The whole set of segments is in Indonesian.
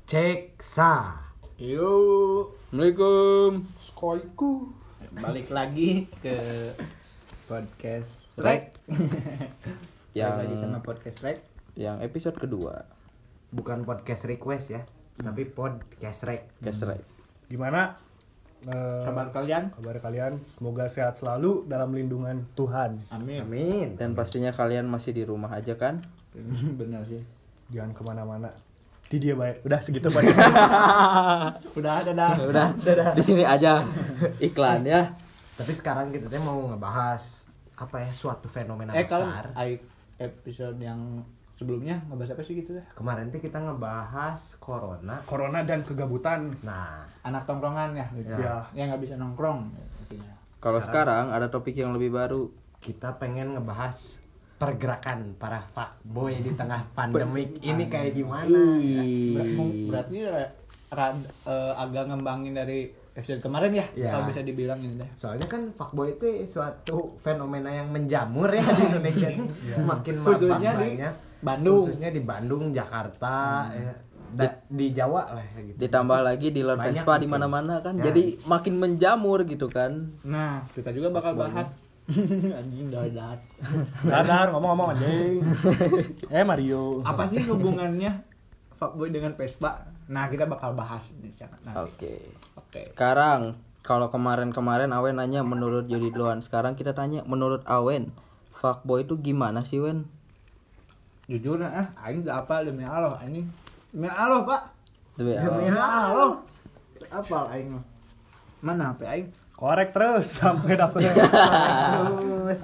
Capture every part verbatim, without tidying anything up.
Cek sa. Yo, Assalamualaikum. Skoiku. balik lagi ke podcast Rek. Balik Yang lagi sama podcast Rek. yang episode kedua. Bukan podcast request ya, tapi podcast rek. Podcast Rek. Gimana eh, Kabar kalian? kabar kalian? Semoga sehat selalu dalam lindungan Tuhan. Amin. Amin. Dan pastinya kalian masih di rumah aja kan? Benar sih. Jangan kemana-mana. Di dia baik. Udah segitu podcast. Udah, dadah. Udah, di sini aja iklan ya. Tapi sekarang kita teh mau ngebahas apa ya, suatu fenomena Eh besar. kalau ai- episode yang sebelumnya ngebahas apa sih gitu ya? Kemarin tuh kita ngebahas corona. Corona dan kegabutan. Nah, Anak tongkrongan ya, gitu. Ya. Yang nggak bisa nongkrong. Intinya. Kalau sekarang ada topik yang lebih baru. kita pengen ngebahas pergerakan para fuckboy di tengah pandemik ini kayak gimana. Ber- mung- berarti ra- rad- eh, agak ngembangin dari episode kemarin ya, Ya. kalau bisa dibilang ini deh. Soalnya kan fuckboy itu suatu fenomena yang menjamur ya di Indonesia. Makin Khususnya mabak di banyak. Bandung. Khususnya di Bandung, Jakarta, eh, da- di Jawa lah ya gitu. Ditambah lagi di luar Banyak Vespa gitu. di mana-mana kan. Ya. Jadi makin menjamur gitu kan. Nah, kita juga bakal bahas. Anjing dadat. Dadar ngomong-ngomong anjing. Eh Mario. Apa sih hubungannya fuckboy dengan Vespa? Nah, kita bakal bahas di sana nanti. Oke. Oke. Sekarang kalau kemarin-kemarin Awen nanya menurut Jody duluan. Sekarang kita tanya menurut Awen, fuckboy itu gimana sih, Wen? Jujur ah, aing enggak apa demi Allah anjing. Demi Allah, Pak. Demi Demi Allah. Allah. Apa aing mah? Mana H P aing? Korek terus sampai dapet. Terus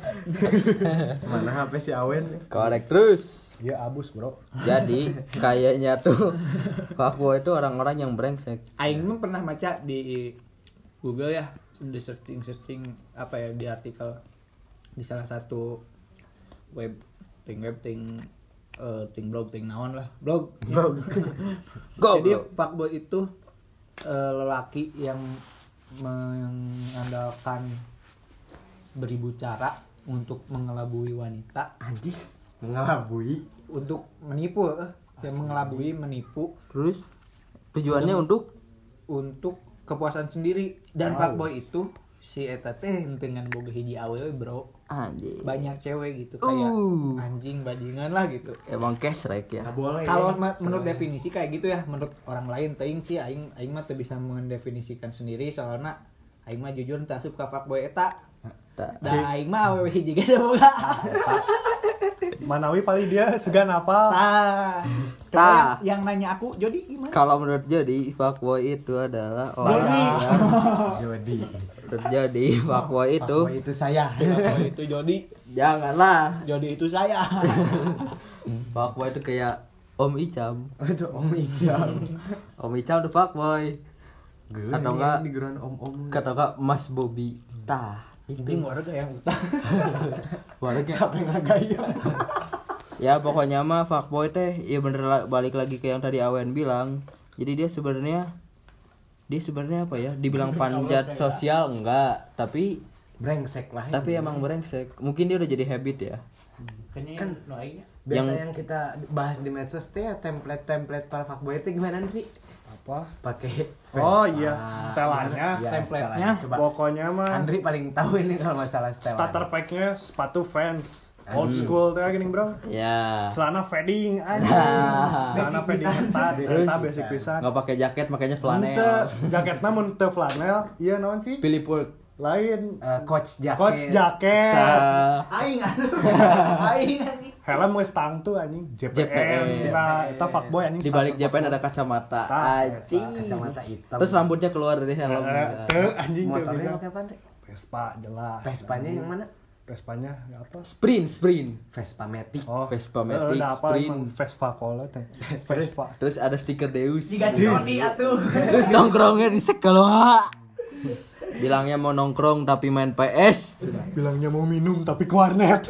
mana H P si Awen? Korek terus. Iya abus, Bro. Jadi kayaknya tuh fuckboy itu orang-orang yang brengsek. Aing mah pernah baca di Google ya, di searching-searching apa ya di artikel di salah satu web ting web ting eh, ting blog ting naon lah blog blog jadi Goblok. fuckboy itu eh, lelaki yang mengandalkan beribu cara untuk mengelabui wanita, Anjis, mengelabui. untuk menipu eh, yang mengelabui menipu Terus tujuannya untuk untuk kepuasan sendiri. Dan Wow. fuckboy itu si eta teh dengan boga hiji awewe bro, anjing. banyak cewek gitu kayak Uh. anjing bajingan lah gitu. Emang kesrek ya. Nggak boleh. Kalau ya. ma- menurut definisi kayak gitu ya, menurut orang lain teuing sih aing aing mah teu bisa mendefinisikan sendiri soalnya aing mah jujur teu suka fuckboy eta. Tak. Da aing mah awewe hiji ge teu boga. Manawi paling dia segan apa? Tah. Coba Tah. yang, yang nanya aku, Jody gimana? Kalau menurut Jody, fuckboy itu adalah Saya. orang yang Jody. terjadi fuckboy itu Fuckboy itu saya. Fuckboy itu Jody, janganlah. Jody itu saya. Fuckboy itu kayak Om Icam. Aduh, Om Ijam. Om Icam tuh fuckboy. Geuleuh Atau ini enggak di geran om-om. Kata enggak Mas Bobby. Tah, Anjing itu. warga yang utang. Warga. Capek ngagaya. Ya pokoknya mah fuckboy teh ya bener la- balik lagi ke yang tadi Awen bilang. Jadi dia sebenarnya dia sebenarnya apa ya? Dibilang panjat sosial enggak, tapi Brengsek lah. tapi ini. emang brengsek. Mungkin dia udah jadi habit ya. Kayaknya Kan no aing Biasa yang- yang... kita bahas di medsos teh ya, template-template para fuckboy itu gimana nih, Vi? Apa? Pakai Oh Vespa. iya, setelannya. Iya, Template-nya. setelannya. Coba Pokoknya mah Andri paling tahu ini kalau masalah setelan. starter pack-nya sepatu Vans. Old school tuh gini, Bro. Ya. Celana fading aja. Nah. Celana Basic fading pisan. eta, Terus? eta basic pisan. Nggak pakai jaket makanya Henteu, flanel. jaketna mun teu flanel, iya naon sih? Pilih pul. Lain. Eh, coach jaket. Coach jaket. Tah. aing atuh. Aing anjing. Helm geus tang tuh anjing. J P J P M. M. Nah, eta fuckboy anjing. Di balik J P N ada kacamata. Tah, Anjing. Kacamata hitam. Terus rambutnya keluar dari helm. Eh, teu anjing teu Motornya bisa. pakai apa, Andre? Vespa jelas. Vespanya yang mana? Vespanya apa? Sprint, sprint. Vespa Matic. Oh, Vespa eh, Matic, udah apa sprint. emang Vespa Cola teh. Vespa. Terus ada stiker Deus. Jika si Jody atuh. Terus nongkrongnya di sekolah. Bilangnya mau nongkrong tapi main P S. Bilangnya mau minum tapi ke warnet.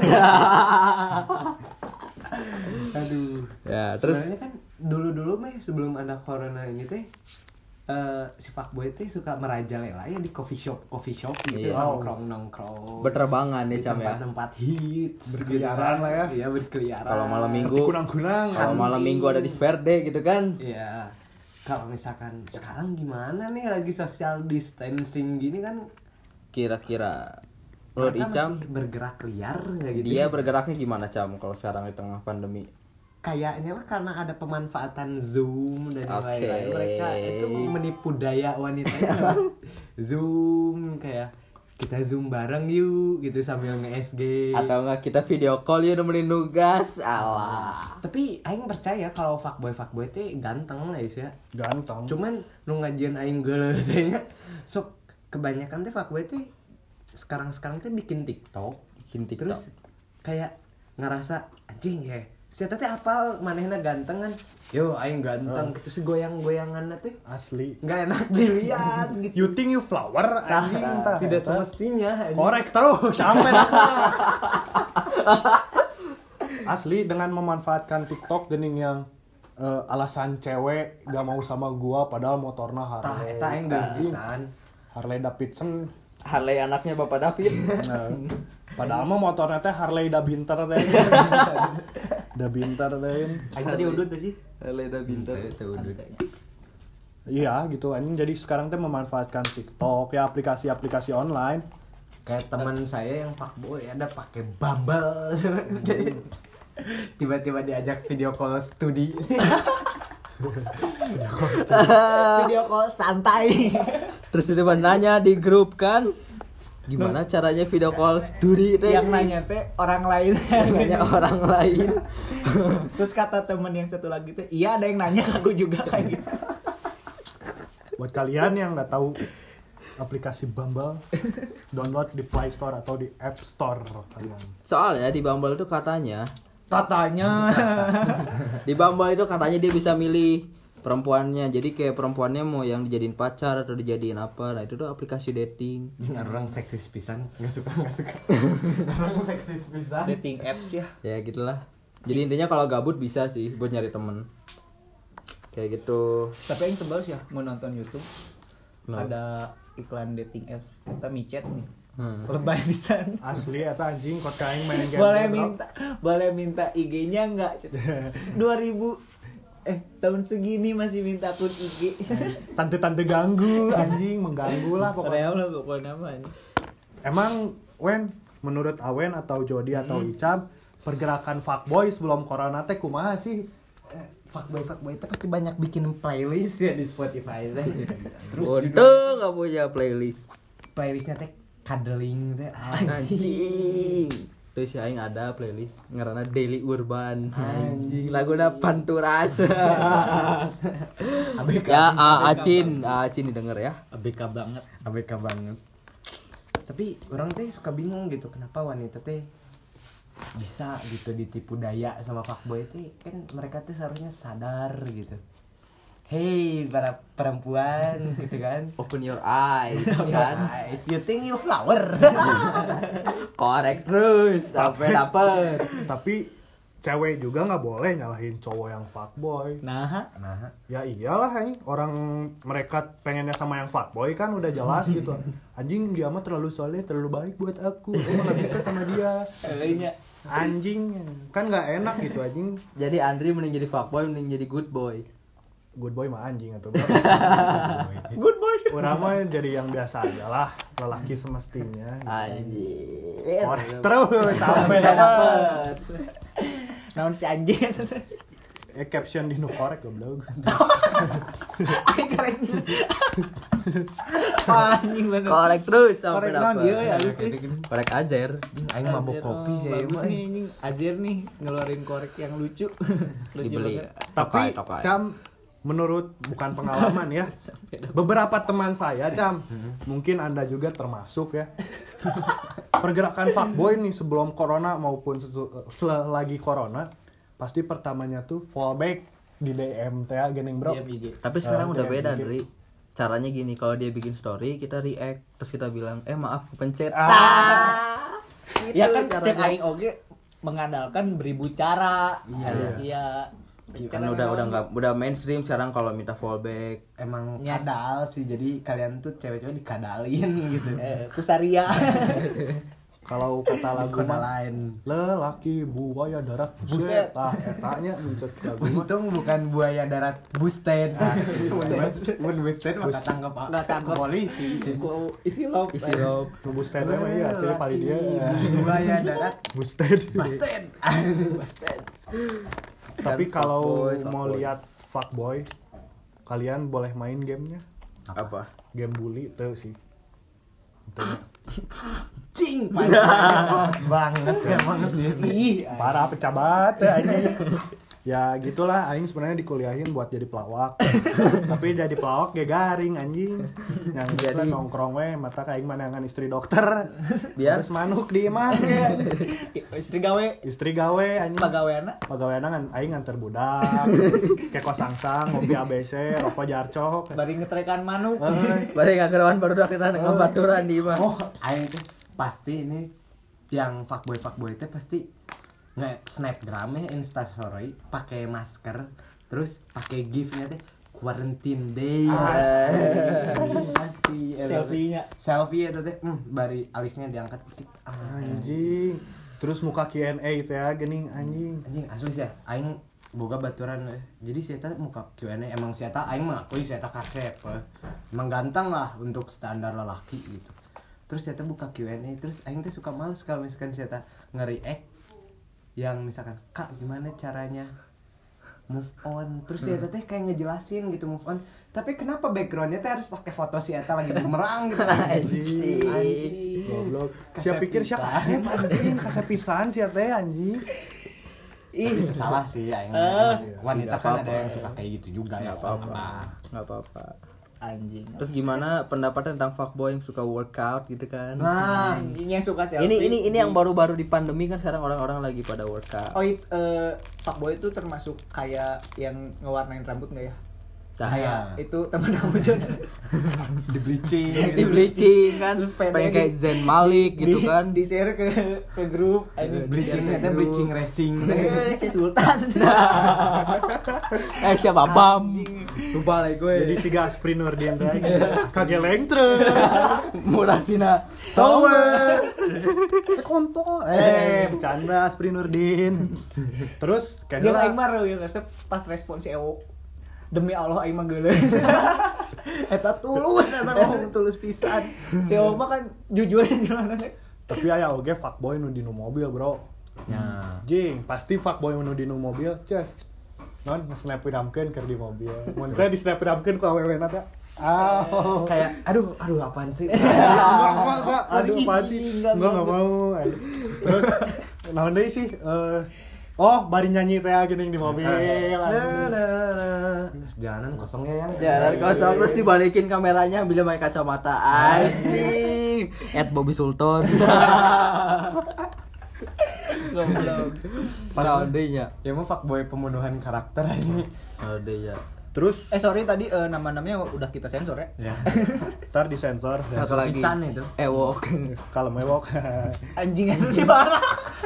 Aduh. Ya, terus Sebenarnya kan dulu-dulu mah sebelum ada corona ini teh eh si fuckboy teh suka merajalela ya di coffee shop coffee shop gitu, Iya. nongkrong nongkrong berterbangan ya di Cam ya. tempat-tempat hits Berkeliaran lah ya. iya berkeliaran Kalau malam Seperti minggu kunang-kunang. kalau malam minggu ada di Verde gitu kan. iya kalau misalkan sekarang gimana nih lagi social distancing gini kan, Kira-kira menurut mereka Icam masih bergerak liar nggak gitu? dia bergeraknya gimana Cam kalau sekarang di tengah pandemi? Kayaknya mah karena ada pemanfaatan Zoom dan yang Oke. lain-lain, mereka itu menipu daya wanitanya lewat Zoom, kayak kita Zoom bareng yuk gitu sambil nge-S G. Atau enggak kita video call ya nemenin nugas. Alah. Tapi aing percaya kalau fuckboy fuckboy teh ganteng lah ya. Ganteng. Cuman nu ngajian aing geuleuh teh nya sok kebanyakan teh fuckboy teh sekarang-sekarang teh bikin TikTok, Bikin TikTok. terus kayak ngerasa anjing ya. Si teh apal manehna ganteng kan. Yo aing ganteng gitu sih goyang-goyanganna teh Asli. enggak enak dilihat gitu. You think you flower anjing tah. Tidak Eta. semestinya anjing. Korek terus sampai asli dengan memanfaatkan TikTok gening yang eh, alasan cewek gak mau sama gua padahal motornya Tah Harley. eta aing geus pisan. Harley Davidson. Harley anaknya Bapak David. Nah, padahal mah motornya teh Harley Dabinter teh. Dabinter teh. Aing tadi udut tuh sih. Harley udah pintar. Iya gitu anjing, jadi sekarang teh memanfaatkan TikTok ya, aplikasi-aplikasi online. Kayak teman saya yang fuckboy ada pakai Bumble. Jadi tiba-tiba diajak video call studi. Video call santai. Terus dia nanya di grup kan, gimana caranya video call studi teh? Yang nanya teh orang lain. Yang nanya orang lain. Terus kata temen yang satu lagi teh, iya ada yang nanya ke aku juga kayak gitu. Buat kalian yang nggak tahu aplikasi Bumble, download di Play Store atau di App Store kalian. Soalnya di Bumble itu katanya, Katanya. di Bumble itu katanya dia bisa milih perempuannya. Jadi kayak perempuannya mau yang dijadiin pacar atau dijadiin apa. Nah itu tuh aplikasi dating. Orang seksis pisan, nggak suka nggak suka. Orang seksis pisan. Dating apps ya. Ya gitulah. Jadi intinya kalau gabut bisa sih buat nyari temen. Kayak gitu. Tapi yang sebel sih ya mau nonton YouTube. No. Ada iklan dating apps. Kita micet nih. Hmm. Lebay pisan. Asli eta anjing kok kain main game. Boleh minta boleh minta I G-nya enggak? dua ribu eh tahun segini masih minta akun I G. Tante-tante ganggu anjing, mengganggu lah pokoknya. Real lah pokoknya namanya. Emang Wen, menurut Awen atau Jody atau Icam, pergerakan fuckboy sebelum corona teh kumaha sih? Fuckboy fuckboy itu pasti banyak bikin playlist ya di Spotify teh. Terus Untung nggak punya playlist. playlistnya teh cuddling teh. Anjing. Terus si aing ada playlist ngaranna Daily Urban. Anjing. Laguna Panturas. A B K. Ya, A- Acin, A- Acin didengar ya. A B K banget. A B K banget. Tapi orang teh suka bingung gitu kenapa wanita teh bisa gitu ditipu daya sama fuckboy teh, kan mereka tuh seharusnya sadar gitu. Hey para perempuan gitu kan. Open your eyes kan. Guys, you think you flower. Korek terus sampai dapet. Tapi cewek juga nggak boleh nyalahin cowok yang fuckboy. Nah, Nah, Ya iyalah anjing, orang mereka pengennya sama yang fuckboy kan udah jelas gitu. Anjing dia mah terlalu soleh, terlalu baik buat aku. Aku nggak bisa sama dia. kayaknya Anjing kan nggak enak gitu anjing. Jadi Andri mending jadi fuckboy mending jadi good boy. Good boy mah anjing atau good boy. orang mah jadi yang biasa aja lah, lelaki semestinya. Anjing. Korek terus sampai Sampai dapat. dapet. Naon si anjing. Eh caption di nu korek goblok. Aing keren. Anjing bener. Korek terus sampai Korek naon dapet. ieu ya halus geus. Korek Azer. aing mabok kopi sih aing Bagus mah. nih anjing. Azir nih ngeluarin korek yang lucu. Lucu Dibeli. banget. Tapi Tokai, tokai. Cam, menurut bukan pengalaman ya, beberapa teman saya Cam, mungkin Anda juga termasuk ya. Pergerakan fuckboy nih sebelum corona maupun sesu- selagi corona, pasti pertamanya tuh fallback di D M teh gening bro. D M I G. Tapi sekarang Eh, udah D M beda, dikit. Dri. Caranya gini, kalau dia bikin story, kita react, terus kita bilang, "Eh, maaf kepencet." Ah. Tah. Gitu Ya kan cek caranya. aing oge mengandalkan beribu cara. Iya. Manusia. Kan udah udah nggak udah mainstream sekarang kalau minta fallback. Emang Nyes. kadal sih, jadi kalian tuh cewek-cewek dikadalin gitu. Eh, Kusaria. Kalau kata lagu Kota mah lain. lelaki buaya darat Buset. buset. Ah, etanya muncul lagu mah. Untung bukan buaya darat busten. Mun busten maka tangkap Nggak tangkap. polisi. Ku isi lop. isi rob Busten mah iya, jadi paling dia. Buaya darat Busten. busten. Busten. Tapi Dan kalau fuckboy, mau fuckboy. lihat fuckboy, kalian boleh main gamenya. apa Game bully tuh sih. Tuh. Cing banget emang sih. Ih, Parah pecah banget anjing. Ya gitulah aing sebenarnya dikuliahin buat jadi pelawak. Tapi jadi pelawak ge garing anjing. Yang Jadi- jadi nongkrong we mata aing manangan istri dokter. Biar- Terus manuk di imah ge. istri gawe Istri gawe anjing. pagaweana. Pagaweana kan aing nganter budak. Kayak kosangsang, ngopi A B C, rokok jarcok. Bari ngetrekan manuk. Eh, bari ngagerawan baru dah kita ngebaturan di mah Oh, aing tuh pasti ini yang fuckboy fuckboy itu pasti nge snapgram ya instastory pakai masker terus pakai gifnya teh quarantine day pasti Selfie-nya. selfie itu teh hmm, bari alisnya diangkat dikit ah, anjing. Terus muka Q and A teh ya geuning anjing. anjing asli sih ya aing boga baturan eh. Jadi saya muka Q and A emang saya aing mengakui saya kasep eh. Emang ganteng lah untuk standar lelaki gitu. Terus saya buka Q and A terus aing teh suka males kalau misalkan saya nge-react yang misalkan kak gimana caranya move on terus ya teh kayak ngejelasin gitu move on tapi kenapa backgroundnya teh harus pakai foto si Eta lagi bumerang gitu Anjing. Goblok. Kasep Siapa pikir siapa pisan. kasep anjing, kasep pisan sia teh anjing. ih salah sih aing wanita Nggak kan apa-apa. ada yang suka kayak gitu juga ya nggak apa-apa nggak apa-apa Anjing. terus gimana pendapatnya tentang fuckboy yang suka workout gitu kan nah Anjing yang suka selfie. ini ini ini yang baru-baru di pandemi kan sekarang orang-orang lagi pada workout Oh, it, eh, fuckboy itu termasuk kayak yang ngewarnain rambut nggak ya? Nah, Kayak itu teman kamu juga. di bleaching di bleaching kan Terus pendek pengen kayak di- Zain Malik gitu Di- kan Di share ke ke grup. Anjing. bleaching itu bleaching racing Eh, si Sultan. eh siapa Bam lupa lagi gue Jadi si Gaspri Nurdin teh kageleng terus. murah dina Tower. Kontol. Eh, bercanda Gaspri Nurdin. Terus kayak Jeung lah. aing mah reueun resep pas respon si Ewo. Demi Allah aing mah geuleuh. eta tulus eta ngomong tulus pisan Si Ewo mah kan jujur jalanana. Tapi aya oge fuckboy nu dinu mobil, Bro. ya Jing, pasti fuckboy nu dinu mobil, ces. Non nge-snapgramkeun keur di mobil. Mun teh di snapgramkeun ku awewena teh. Ah, kayak aduh aduh apaan sih enggak, enggak, enggak. Aduh, Sorry, apaan sih? enggak, Enggak, enggak mau. Terus, naon deui sih? Eh, oh, bari nyanyi teh geuning di mobil. jalanan kosong ya yang jalan kosong terus dibalikin kameranya ambil pakai kacamata anjing at Bobby Sultan goblok soundnya ya mau fuckboy pembunuhan karakter aja soundnya Terus, Eh sorry tadi eh, nama-namanya udah kita sensor ya. ya ntar disensor. satu lagi pisan itu. Ewok Kalau mewok. Anjing itu sih parah.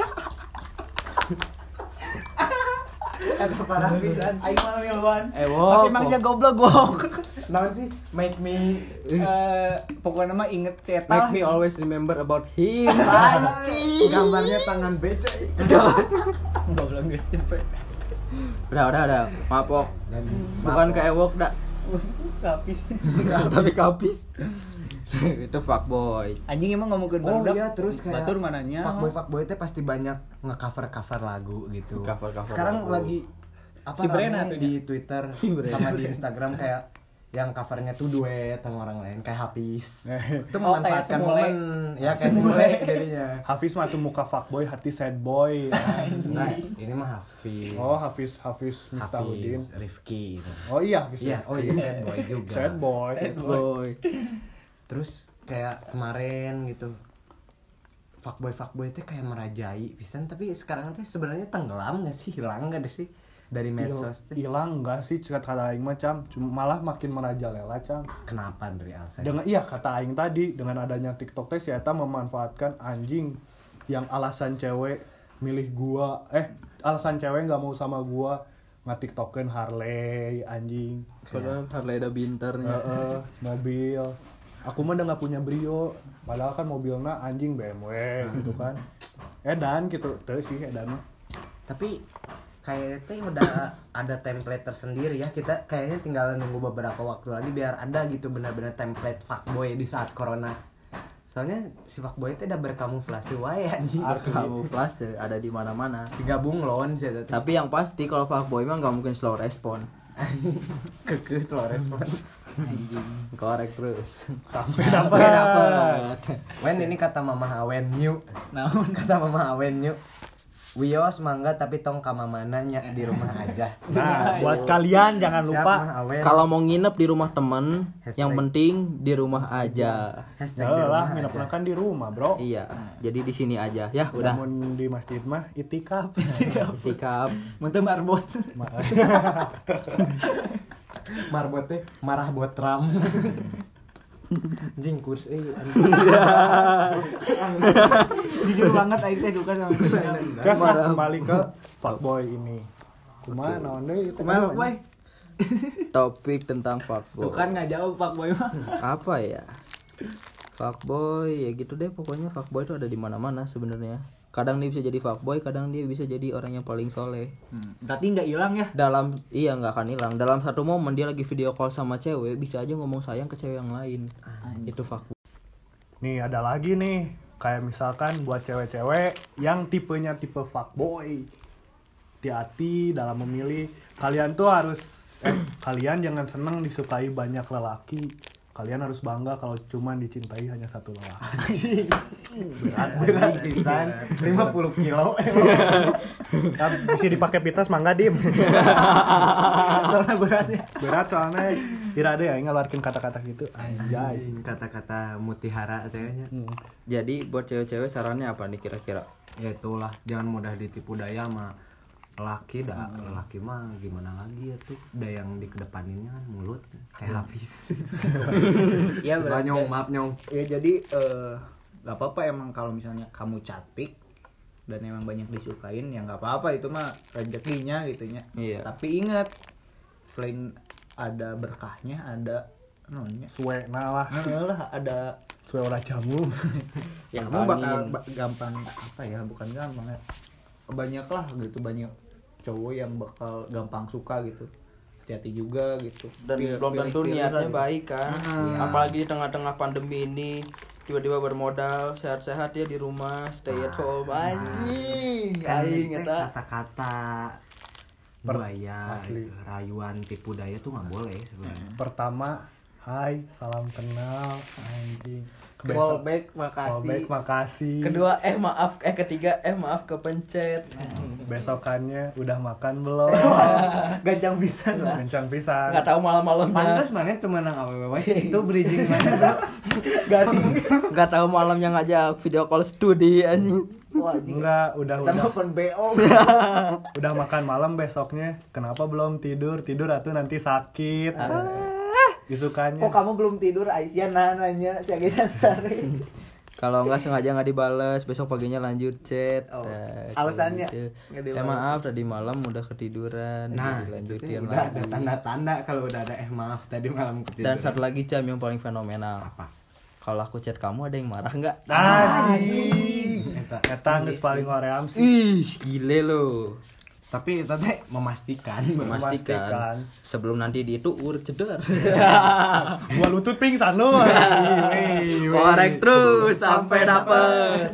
eta parah pisan Aing mah miluan. Ewok Tapi emang dia goblok gok. naon sih make me Eh pokoknya mah inget make cetak. me always remember about him anjing gambarnya tangan becek Goblok geus tipe. udah udah udah maaf Wok dan bukan ke Ewok dak Kapis. tapi kapis itu fuckboy Anjing emang ngomongin oh barudak. iya terus kayak Batur mananya. fuckboy fuckboy itu pasti banyak nge-cover cover lagu gitu Cover-cover sekarang lagu. lagi apa Si Brena rame tuh di Twitter Brena. sama di Instagram kayak yang covernya tuh duet sama orang lain kayak Hafiz itu Oh, kayak memanfaatkan Semule. momen ya kayak Semule. Semule jadinya Hafiz mah tuh muka fuckboy, hati sad boy. nah ini mah Hafiz Oh, Hafiz Hafiz Miftahudin. Hafiz Rifki gitu. Oh iya, Hafiz. iya oh iya sad boy juga Sad boy. boy terus kayak kemarin gitu fuckboy fuckboy itu kayak merajai pisan tapi sekarang tuh sebenarnya tenggelam nggak sih hilang nggak sih dari medsos tuh? Hilang enggak sih kata aing mah Cam, cuma malah makin merajalela Cam. Kenapa dari Alsa? Dengan iya kata aing tadi dengan adanya TikTok teh si eta memanfaatkan anjing yang alasan cewek milih gua eh alasan cewek nggak mau sama gua nge-tiktokeun Harley anjing. padahal Harley ada bintarnya Heeh, mobil. aku mah udah nggak punya Brio, padahal kan mobilnya anjing B M W gitu kan. Edan gitu, tuh sih edan mah. Tapi kayaknya tuh udah ada template tersendiri ya, kita kayaknya tinggal nunggu beberapa waktu lagi biar ada gitu benar-benar template fuckboy di saat corona. Soalnya si fuckboy itu udah berkamuflase wae anjing. Kamuflase ada di mana-mana. Si gabung lon sih. Tapi yang pasti kalau fuckboy mah nggak mungkin slow respon. Kekeh slow respon. Anjing. Korek terus. Sampai Sampai dapat. dapat. Wen ini kata Mama Awen new. Naon? Kata Mama Awen new. Wios mangga tapi tong ka mamana nya di rumah aja. Nah, buat kalian jangan Siap, lupa Mah Awen. Kalau mau nginep di rumah temen, Hashtag. yang penting di rumah aja. Hashtag di ya lah rumah minap aja. kan di rumah, Bro. Iya, jadi di sini aja. Ya, udah. Namun di masjid mah itikaf. Sikap. Muntah marbot. Ma- Marbot teh marah buat ram. Anjing kurs eh. Jujur banget aing teh suka sama dia. Gas lah kembali ke fuckboy ini. Kumaha naon deui itu? Kumaha boy? Topik tentang fuckboy. Tuh kan enggak jawab Pak Boy mah. Apa ya? Fuckboy ya gitu deh pokoknya fuckboy itu ada di mana-mana sebenarnya. Kadang dia bisa jadi fuckboy, kadang dia bisa jadi orang yang paling soleh. Hmm, berarti enggak hilang ya? Dalam iya nggak akan hilang. Dalam satu momen dia lagi video call sama cewek, bisa aja ngomong sayang ke cewek yang lain. Itu fuckboy. Nih ada lagi nih, kayak misalkan buat cewek-cewek yang tipenya tipe fuckboy. Hati-hati dalam memilih. Kalian tuh harus eh kalian jangan seneng disukai banyak lelaki. Kalian harus bangga kalau cuma dicintai hanya satu lelaki. Berat berat pisan lima puluh kilo. Kan bisa dipakai fitness mangga dim. Soalnya beratnya. Berat soalnya tidak ada ya ngeluarin kata-kata gitu. Anjay. Kata-kata mutihara kayaknya. Hmm. Jadi buat cewek-cewek sarannya apa nih kira-kira? Ya itulah, jangan mudah ditipu daya sama lelaki dah. Lelaki mah gimana lagi ya tuh, daya yang dikedepaninnya kan mulut kayak habis. Iya Bah, berarti. nyong maaf nyong. Ya jadi eh nggak apa-apa emang kalau misalnya kamu cantik dan emang banyak disukain ya nggak apa-apa, itu mah rezekinya gitunya. Iya. Tapi ingat, selain ada berkahnya ada namanya Suwe nah lah. lah ada Suwe ora jamu. ya kamu bakal Angin. ba- gampang apa ya, bukan gampang ya, banyak lah gitu, banyak cowok yang bakal gampang suka gitu. Hati-hati juga gitu. Dan Pilih- belum tentu pilih-pilih niatnya lah gitu. baik kan. Iya. Apalagi di tengah-tengah pandemi ini tiba-tiba bermodal sehat-sehat dia di rumah stay at home anjing Kan aing teh eta kata-kata Per- buaya asli. gitu. Rayuan tipu daya tuh nggak boleh sebenarnya. Pertama, hai, salam kenal, anjing. Callback, makasih. Callback, makasih. kedua eh maaf eh ketiga eh maaf kepencet Besokannya udah makan belum? Gancang pisan lah. Kencang pisan. nggak tahu malam-malamnya Pantes mana tuh menang awewe itu bridging mana bro? nggak tahu malamnya ngajak video call studi anjing. Wah, anjing. Enggak, udah Kita udah nelfon B O. udah makan malam besoknya. Kenapa belum tidur? Tidur atuh nanti sakit. Isukannya. Kok kamu belum tidur? Aisyah nah nanya si Agitan Sari. Kalau nggak sengaja nggak dibales besok paginya lanjut chat. Oh, Nah, alasannya gitu. nggak Eh dibales. maaf tadi malam udah ketiduran Nah, dilanjutin udah ada lagi. tanda-tanda kalau udah ada eh maaf tadi malam ketiduran. Dan satu lagi Cam yang paling fenomenal. apa? Kalau aku chat kamu ada yang marah nggak? Anjing. Eta, Eta geus paling hoream sih. Ih, gile lo. tapi itu teh memastikan, Memastikan Memastikan. sebelum nanti di itu urut cedar. Gua lutut pingsan lu. Korek terus sampai dapet.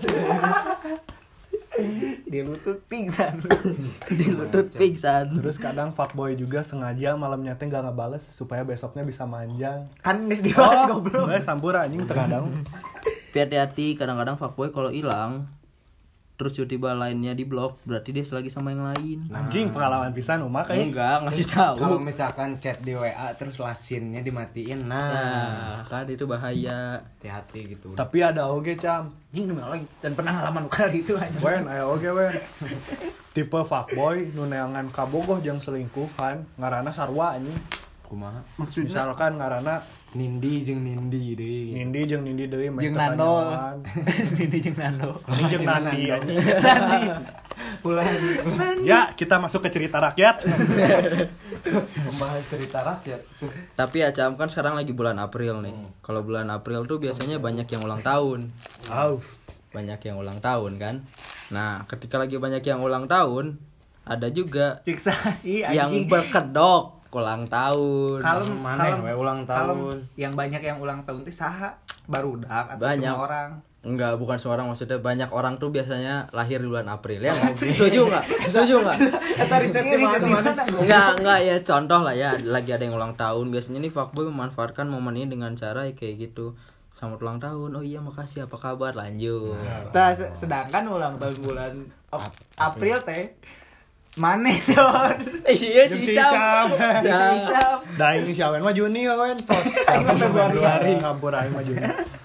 Di lutut pingsan. Di lutut pingsan. Terus kadang fuckboy juga sengaja malamnya teh enggak ngebales supaya besoknya bisa manjang. Kan geus dibahas goblok. Gue sampur anjing terkadang. Tapi hati-hati kadang-kadang fuckboy kalau hilang terus tiba-tiba lainnya di blok berarti dia lagi sama yang lain. Anjing pengalaman pisan umak kayak. Enggak, ngasih tahu. Kalau misalkan chat di W A terus lasinnya dimatiin, nah, Nah, kan itu bahaya. hati-hati gitu. Tapi ada oge cam. Anjing demi Allah dan pernah ngalaman kali itu aja. Wen, aya oge wen. Tipe fuckboy nu neangan kabogoh jeung selingkuhan, ngaranna sarua anjing. Kumaha? Misalkan ngaranna Nindi jeung Nindi deh. Nindi jeung Nindi deui Jeung Nando. Ini jeung Nando. Ini jeung Nandi anjing. Ulah Ya, kita masuk ke cerita rakyat. Membahas cerita rakyat. Tapi ya Cam, kan sekarang lagi bulan April nih. Kalau bulan April tuh biasanya banyak yang ulang tahun. Au. Banyak yang ulang tahun kan. Nah, ketika lagi banyak yang ulang tahun, ada juga Ciksa sih yang anjing. berkedok ulang tahun. Kalem, Mana kalem, we ulang tahun? kalem. Yang banyak yang ulang tahun itu saha? Barudak atau Banyak. cuma orang? Enggak, bukan semua orang, maksudnya banyak orang tuh biasanya lahir di bulan April ya. Nggak? Setuju nggak? Setuju nggak? Kata riset di mana? Enggak, enggak ya, contoh lah ya, lagi ada yang ulang tahun, biasanya nih fuckboy memanfaatkan momen ini dengan cara ya kayak gitu. Selamat ulang tahun. Oh iya, makasih. Apa kabar? Lanjut. Nah, se- sedangkan ulang tahun bulan Ap- April teh mana Don? Eh, iya Jeung si si Icam. Icam. Ya. Icam. Da ini si Awen mah Juni kawan. Tos. Aing mah Februari. Kampur aing mah Juni.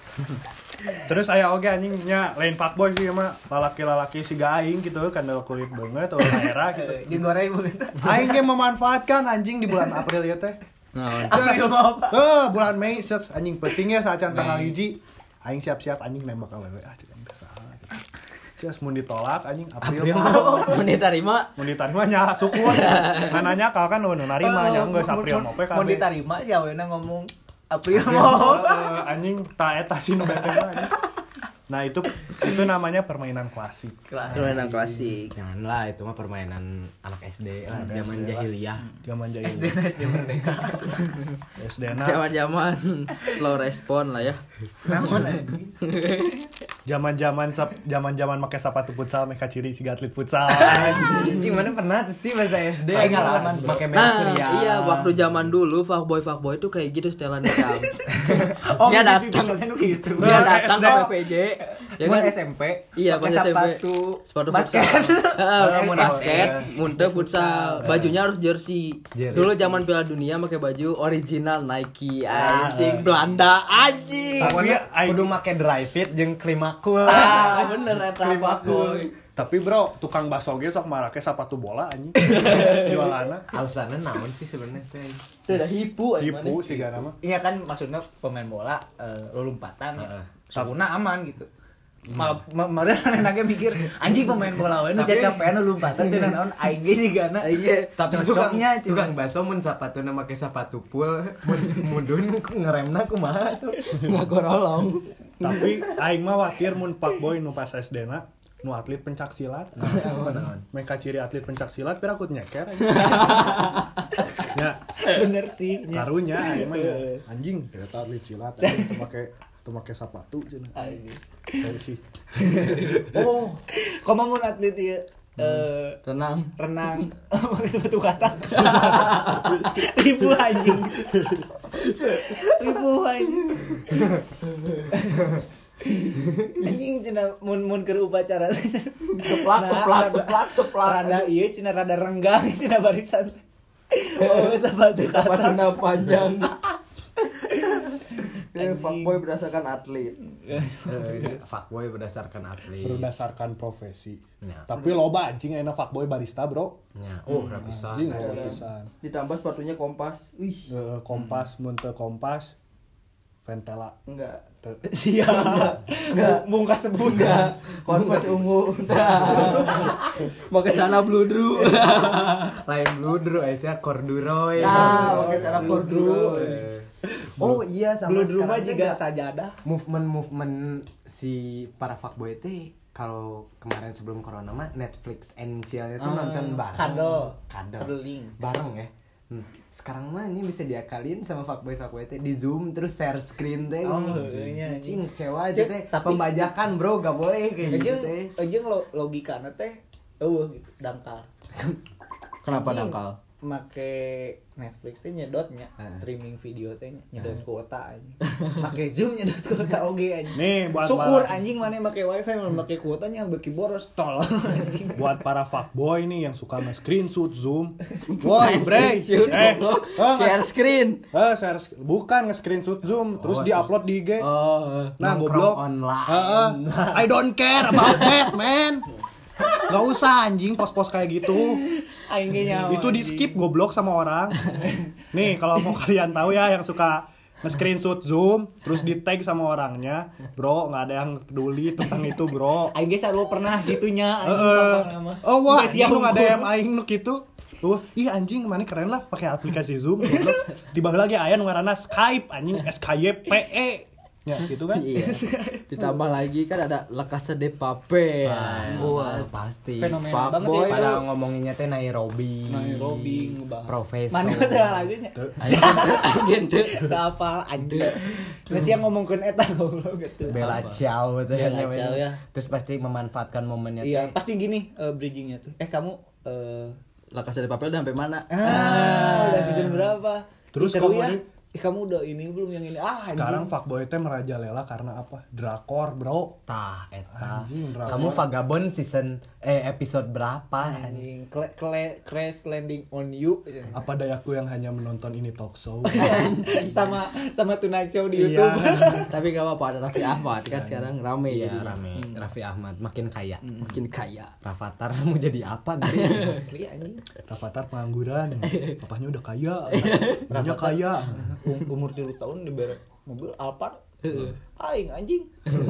Terus aya oge anjing nya lain fuckboy sih mah lalaki-lalaki siga aing gitu kandel kulit banget atau daerah gitu. Digoreng begitu. Aing ge memanfaatkan anjing di bulan April ya teh. Nah, April mau apa? Eh, bulan Mei set anjing pentingnya saat tanggal hiji aing siap-siap anjing nembak awewe ah cek aing kesaha. Ceus mun ditolak anjing April mah. mau diterima? Mun diterima nya syukur. Ngananya kal kan nu narima nya geus April mah pe Mau kabeh. diterima ya weuna ngomong April mau. Eh, anjing ta eta si nu bete mah anjing. Nah, itu itu namanya permainan klasik. Permainan klasik. Janganlah itu mah permainan anak S D lah, zaman jahiliyah. Zaman S D jahiliyah. S D Merdeka. S D na. Zaman-zaman slow respon lah ya. Namun anjing. Zaman-zaman sap- zaman-zaman make sepatu futsal make ciri si atlet futsal. Anjing mana pernah tuh sih bahasa S D Pengalaman. pakai Nah, merkurial. iya waktu zaman dulu fuckboy fuckboy itu kayak gitu setelan Cam. Oh, Dia mimpi datang. bangetnya nu gitu. Dia Nah, datang S D. ke P P J. Ya Mun kan? S M P. Iya, pakai pas S M P. sepatu Sepatu basket. futsal. Heeh, Mun basket, basket. munte futsal. Bajunya harus jersey. Jersey. Dulu zaman Piala Dunia pakai baju original Nike. Anjing Belanda anjing. Tapi aing Kudu make dry fit jeung klimakul. Ah, bener eta fuckboy. tapi bro, tukang bakso ge sok marake sepatu bola anjing. Jualanna Alasannya naon sih sebenarnya teh? Itu udah hipu tipu sih gana mah. Iya kan maksudnya pemain bola eh, lompatan ya. Heeh. Sabuna aman gitu. Malah kemarin anaknya mikir anjing pemain bola we nu cacapean nu lompatan teh naon aing ge sigana. Aing ge Tapi tukang Cocoknya, Cing. tukang bakso mun sapatuna make sepatu full, mun mudun ngeremna kumaha so. ngagorolong. Tapi aing mah watir mun fuckboy nu pas S D na nu atlet pencak silat. Mereka ciri atlet pencak silat pira kut nyeker anjing. Ya, Bener sih. karunya aing mah nya, anjing eta atlet silat anjing teu make teu make sepatu cenah. Anjing. Saya sih. Oh, komo mun atlet ieu eh Tenang. renang pakai sepatu katak. Ribu anjing. Ribu anjing. Anjing cenah mun mun keur upacara Ceplak, ceplak, ceplak, ceplak. Rada ieu cenah rada renggang cenah barisan. Oh, sepatu katak. Sepatunya panjang. Eh, Anjing. fuckboy berdasarkan atlet. Fuckboy berdasarkan atlet. Berdasarkan profesi. Ya. Tapi loba anjing enak fuckboy barista, Bro. Ya. Oh, udah bisa. Anjing loba pisan. Ditambah sepatunya Kompas. Wih, Eh, kompas mun teu kompas Ventela. enggak. Teu. Siap. Enggak bungkas sebut enggak. Kompas ungu. Pakai celana bludru. Lain bludru aya corduroy. Nah, pakai celana Bludru. bludru. Oh iya sama Belum rumah sekarang juga teh sajadah. movement-movement si para fuckboy teh kalau kemarin sebelum corona mah Netflix and chill-nya tuh Ah, nonton bareng. kado. Kado. Kedeling. Bareng ya. Hmm. Sekarang mah ini bisa diakalin sama fuckboy fuckboy teh di Zoom terus share screen teh. Oh, ini. iya, Cing kecewa aja Cek, teh. tapi- Pembajakan, Bro, gak boleh kayak gitu Ejeng, teh. ejeng lo, logikana teh eueuh gitu, dangkal. Kenapa Anjing, dangkal? Make Netflix teh nyedotnya, Ah. streaming video teh nyedot kuota anjing. Make Zoom nyedot kuota oge anjing. Nih buat Syukur para, anjing mana make wifi mana make kuotanya beki boros tol. Anjing. buat para fuckboy nih yang suka nge-screenshot Zoom. Woi, bre. Screenshot, Eh, goblok. eh, Share screen. eh, share sk- bukan nge-screenshot Zoom terus Oh, di-upload di I G. Oh, Nah, Nongkrong goblok. online. Heeh. I don't care about that, man. Gak usah anjing pos-pos kayak gitu. Aing ge nyawa. Itu di skip goblok sama orang. Nih kalau mau kalian tahu ya yang suka nge-screenshot Zoom terus di tag sama orangnya. Bro, nggak ada yang peduli tentang itu, bro. Aing ge sarua pernah gitunya anjing Heeh. nama. Oh wah, Geus lu nggak ada unggul. yang aing nu kitu. Wah, ih anjing mana keren lah pakai aplikasi Zoom goblok. Tiba lagi aya nu ngaranna Skype anjing S K Y P E. Ya, gitu kan? Iya. Ditambah lagi kan ada La Casa de Papel. Wah, pasti. Fenomena banget Fuckboy. ya. Pada ngomonginnya teh Nairobi. Nairobi ngebahas. Profesor. Mana teh lagunya? Anjing teu. Teu apal anjing. Geus yang ngomongkeun eta goblok gitu. Bella Ciao itu Bella namanya. Ciao, ya. Terus pasti memanfaatkan momennya Iya, teh. pasti gini eh, bridgingnya tuh. Eh kamu eh La Casa de Papel udah sampai mana? ah, udah season berapa? Terus Ih, seru kamu ya. ini- Eh, kamu udah ini belum yang ini? Ah, anjing. Sekarang fuckboy teh merajalela karena apa? Drakor, bro. Tah, eta. Anjing, drakor. Kamu vagabond season eh episode berapa? anjing Kle- kle- crash landing on you. Apa dayaku yang hanya menonton ini talk show? sama sama Tonight Show di Iya. YouTube. Tapi gak apa-apa ada Raffi Ahmad kan sekarang rame Iya, jadinya. rame. Raffi Ahmad makin kaya. Makin kaya. Rafathar mau jadi apa gitu? Asli anjing. Rafathar pengangguran. Papahnya udah kaya. Mamanya kaya. Um- umur tiga tahun diberi mobil Alphard. Aing anjing.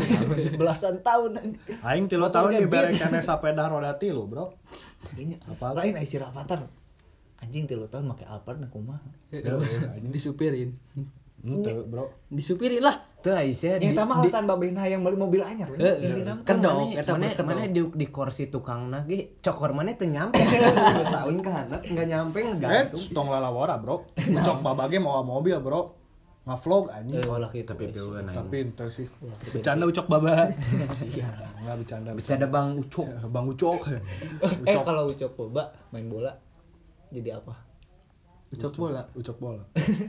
Belasan tahun anjing. Aing tilu tahun dibere kene sepeda roda tilu, bro. Ini Apa? lain ai si Rafathar. Anjing tiga tahun make Alphard na kumaha. Disupirin. Henteu, bro. Disupirin lah. Tuh Aisyah Yang di, tama di, alasan babehna yang beli mobil anyar. Eh, Intina mah. kan dong, mana eta mana, berkedok. mana di, di kursi tukang nage cokor mana teu nyampe dua tahun ke anak nggak nyampe Eh, ngegantung. stong lalawara, bro. Cok babage mau mobil, bro. Ngavlog anjing. Eh, olah gitu. Tapi pieueun aing. Tapi ente sih. Bercanda ucok baba. Enggak bercanda. Bercanda Bang Ucok. Bang Ucok. Eh kalau ucap boba main bola jadi apa? Ucok bola. Ucok bola.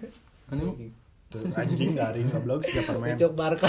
Anu Tuh, anjing garing goblok siga permen. Ucap Barca.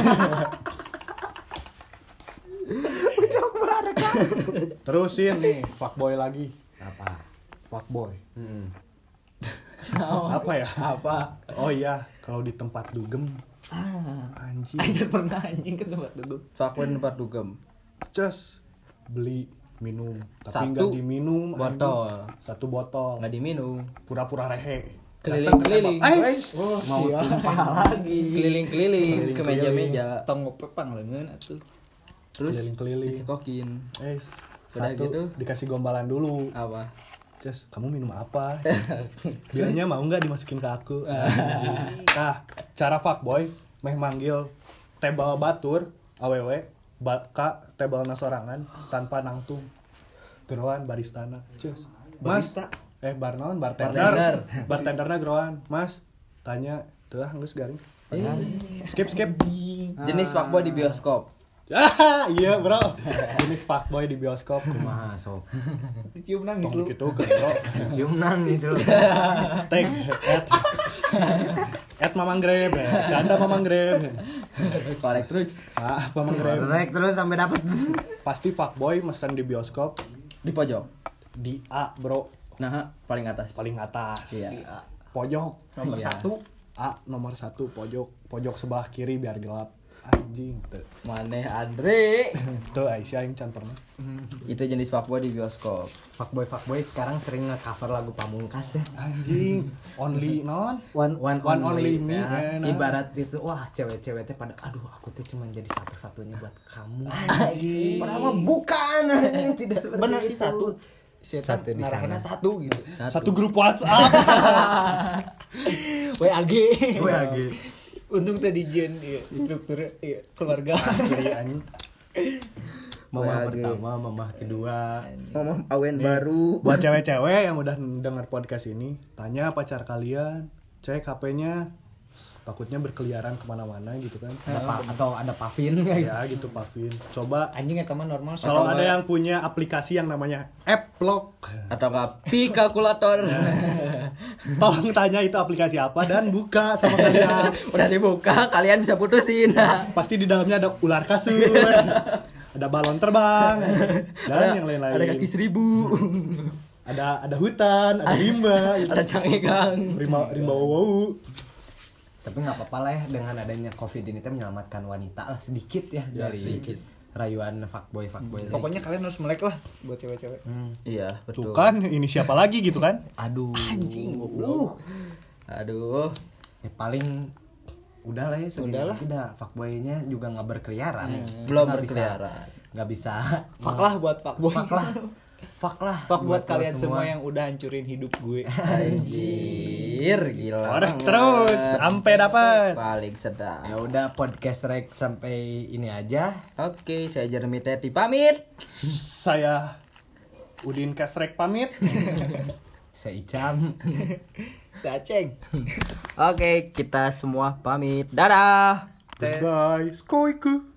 Terusin nih, fuckboy lagi. Apa? Fuckboy. Heeh. Apa ya? apa? Oh iya, kalau di tempat dugem Ah. anjing. Aing pernah anjing ke tempat duduk. Fuckboy tempat dugem. Just beli minum, tapi Satu nggak diminum. botol. anjing. Satu botol. Nggak diminum. Pura-pura rehe. Keliling-keliling. Ais. Mau tumpah lagi. Keliling-keliling ke meja-meja. Tong ngopepang leungeun atuh. Terus Keliling-keliling. dicekokin. Ais. Udah Satu gitu? dikasih gombalan dulu. Apa? Just, kamu minum apa? Bilangnya mau nggak dimasukin ke aku? Nah, cara fuckboy meh manggil tebal batur awewe baka tebal nasorangan tanpa nangtung. Geroan baristana. Just, Mas, Barista? eh bar naon bartender. Bartender. Bartenderna geroan. Mas, tanya, teuh geus garing. Skip skip. Jenis fuckboy di bioskop. Ah, iya bro. Jenis fuckboy di bioskop. Kumaha sok. Dicium nangis Tong lu. gitu kan bro. Cium nangis lu. Tag at at Mamang Grab. Canda Mamang Grab. Korek terus Ah, Mamang Grab. Rek terus sampai dapat. Pasti fuckboy mesen di bioskop di pojok. di A, bro. Nah, paling atas. Paling atas. Iya. Pojok Nomor Iya. satu. A nomor satu pojok pojok sebelah kiri biar gelap. Anjing tuh. Maneh Andre. Tuh Aisyah yang can pernah. Itu jenis fuckboy di bioskop. Fuckboy fuckboy sekarang sering nge-cover lagu Pamungkas ya. Anjing, only non. One, one, One only me, Ya, enak. ibarat itu wah cewek-cewek teh pada aduh aku tuh cuma jadi satu-satunya buat kamu. Anjing. Padahal mah bukan. Tidak seperti Bener sih itu. satu. Setan Satu di ngarahinna sana. satu gitu. Satu grup WhatsApp. W A G. W A G. Untung tadi Jen iya, struktur iya, keluarga. Asli anjing. Mama W A G. pertama, mama kedua. Ngomong awen baru. Buat cewek-cewek yang udah denger podcast ini, tanya pacar kalian, cek H P-nya, takutnya berkeliaran kemana-mana gitu kan. Ada pa- atau ada Pavin kayak Ya gitu Pavin. Coba Anjing eta mah normal. kalau Atau ada nggak- yang punya aplikasi yang namanya Applock, Atau enggak pi kalkulator. tolong tanya itu aplikasi apa dan buka sama kalian. Udah dibuka, kalian bisa putusin. Pasti di dalamnya ada ular kasur, ada balon terbang, dan yang lain-lain. Ada kaki seribu. Ada ada hutan, ada rimba, gitu. Ada cangegang. rimba rimba wow. tapi nggak apa-apa lah ya dengan adanya covid ini teh menyelamatkan wanita lah sedikit ya, Ya, dari sedikit. rayuan fuckboy fuckboy. Pokoknya kalian harus melek lah buat cewek-cewek. Iya, Tuh betul. kan, ini siapa lagi gitu kan? aduh Anjing. Uh. Aduh. ya paling udahlah ya segini Udahlah. lagi dah fuckboy-nya juga nggak berkeliaran. Kita Belum nggak bisa- berkeliaran. nggak bisa Fuck lah buat fuckboy. fuck lah fuck lah Fuck buat lo kalian semua yang udah hancurin hidup gue. Anjir, gila. Korek banget. terus sampai dapat. Paling sedap. ya udah podcast rek sampai ini aja. Oke, saya Jeremy Teti pamit. Saya Udin Kesrek pamit. Saya Icam. Saya Ceng. Oke, kita semua pamit. Dadah. Goodbye. Skoiku.